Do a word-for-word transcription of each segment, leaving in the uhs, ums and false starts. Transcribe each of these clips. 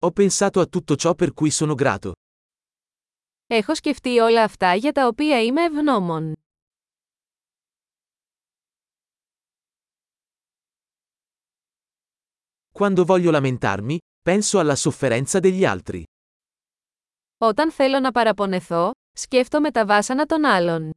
Ho pensato a tutto ciò per cui sono grato. Έχω σκεφτεί όλα αυτά για τα οποία είμαι ευγνώμων. Quando voglio lamentarmi, penso alla sofferenza degli altri. Όταν θέλω να παραπονεθώ, σκέφτομαι τα βάσανα των άλλων.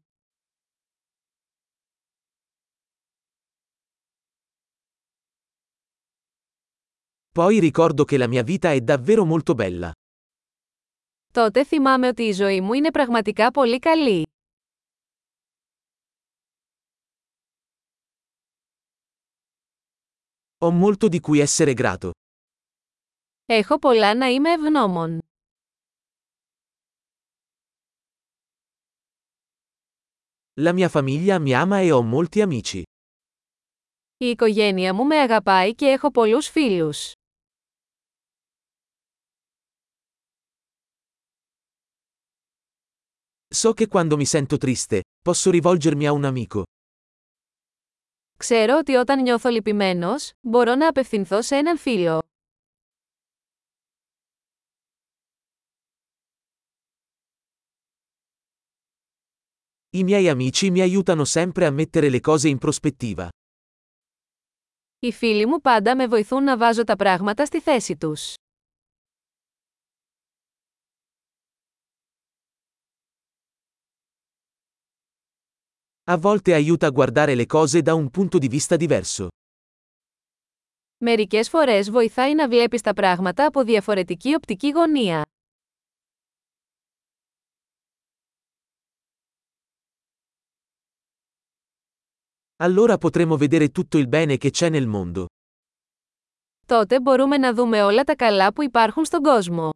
Poi ricordo che la mia vita è davvero molto bella. Τότε θυμάμαι ότι η ζωή μου είναι πραγματικά πολύ καλή. Ho molto di cui essere grato. Έχω πολλά να είμαι ευγνώμων. La mia famiglia mi ama e ho molti amici. Η οικογένεια μου με αγαπάει και έχω πολλούς φίλους. So che quando mi sento triste, posso rivolgermi a un amico. Ξέρω ότι όταν νιώθω λυπημένος, μπορώ να απευθυνθώ σε έναν φίλο. I miei amici mi aiutano sempre a mettere le cose in prospettiva. Οι φίλοι μου πάντα με βοηθούν να βάζω τα πράγματα στη θέση τους. A volte aiuta a guardare le cose da un punto di vista diverso. Μερικές φορές βοηθάει να βλέπεις τα πράγματα από διαφορετική οπτική γωνία. Allora potremo vedere tutto il bene che c'è nel mondo. Τότε μπορούμε να δούμε όλα τα καλά που υπάρχουν στον κόσμο.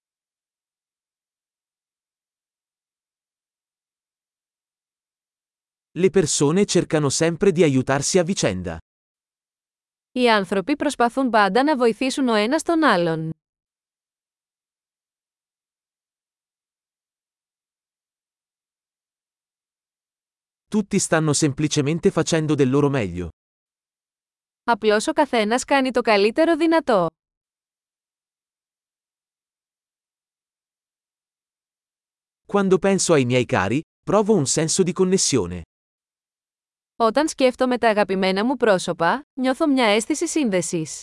Le persone cercano sempre di aiutarsi a vicenda. Οι άνθρωποι προσπαθούν πάντα να βοηθήσουν ο ένας τον άλλον. Tutti stanno semplicemente facendo del loro meglio. Απλώς ο καθένας κάνει το καλύτερο δυνατό. Quando penso ai miei cari, provo un senso di connessione. Όταν σκέφτομαι τα αγαπημένα μου πρόσωπα, νιώθω μια αίσθηση σύνδεσης.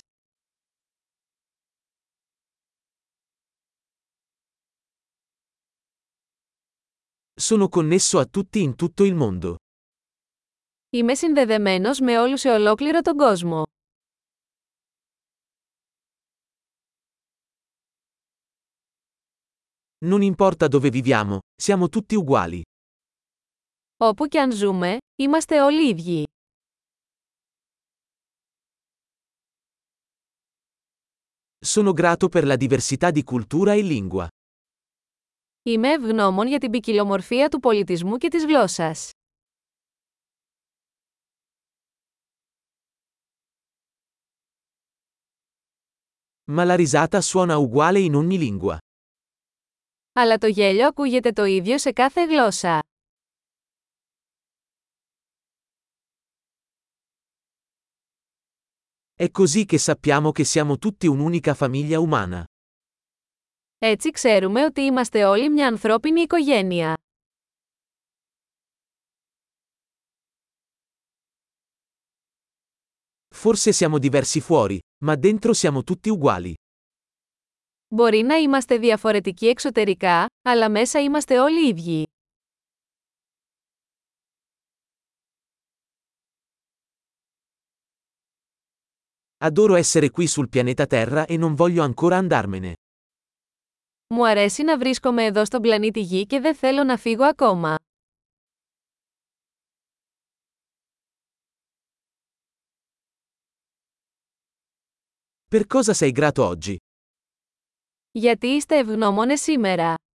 Sono connesso a tutti in tutto il mondo. Είμαι συνδεδεμένος με όλους σε ολόκληρο τον κόσμο. Non importa dove viviamo, siamo tutti uguali. Όπου κι αν ζούμε, είμαστε όλοι ίδιοι. Sono grato per la diversità di cultura e lingua. Είμαι ευγνώμων για την ποικιλομορφία του πολιτισμού και της γλώσσας. Ma la risata suona uguale in ogni lingua. Αλλά το γέλιο ακούγεται το ίδιο σε κάθε γλώσσα. È così che sappiamo che siamo tutti un'unica famiglia umana. Έτσι ξέρουμε ότι είμαστε όλοι μια ανθρώπινη οικογένεια. Forse siamo diversi fuori, ma dentro siamo tutti uguali. Μπορεί να είμαστε διαφορετικοί εξωτερικά, αλλά μέσα είμαστε όλοι ίδιοι. Adoro essere qui sul pianeta Terra e non voglio ancora andarmene. Μου αρέσει να βρίσκομαι εδώ στον πλανήτη Γη και δεν θέλω να φύγω ακόμα. Per cosa sei grato oggi? Γιατί είστε ευγνώμονες σήμερα.